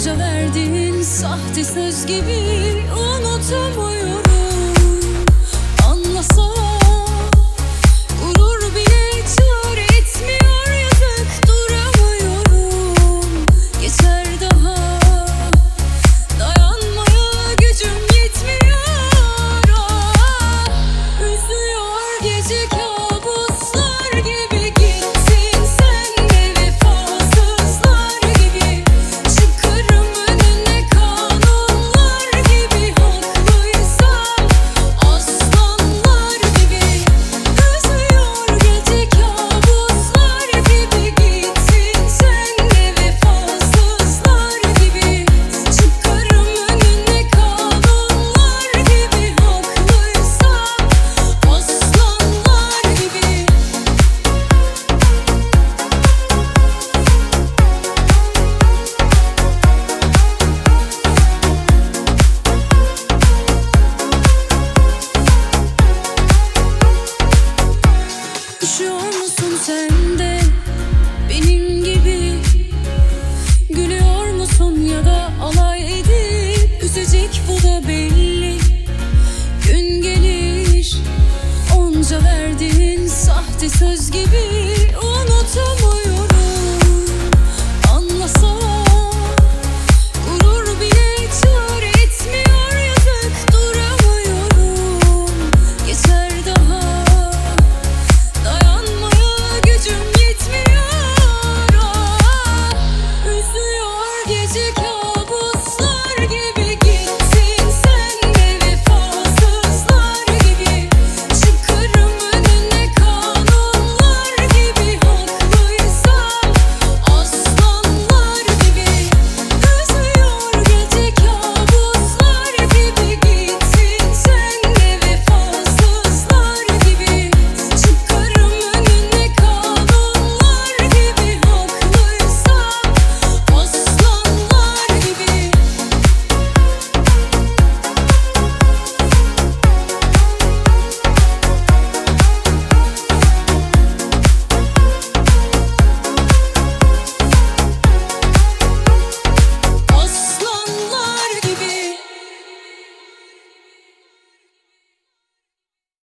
Onca verdiğin sahte söz gibi unutamıyorum. Anlasam gurur bile çare etmiyor, yazık duramıyorum. Geçer daha dayanmaya gücüm yetmiyor. Üzüyor gece kabuslar gibi, gittin sen de vefasızlar gibi. Çıkarım önüne kanunlar gibi, haklıysam aslanlar gibi. Üzüyor gece kabuslar gibi, gittin sen de vefasızlar gibi. Çıkarım önüne kanunlar gibi, haklıysam aslanlar gibi. Üşüyor musun sen de benim gibi? Gülüyor musun ya da alay edip üzecek, bu da belli. Gün gelir onca verdiğin sahte söz gibi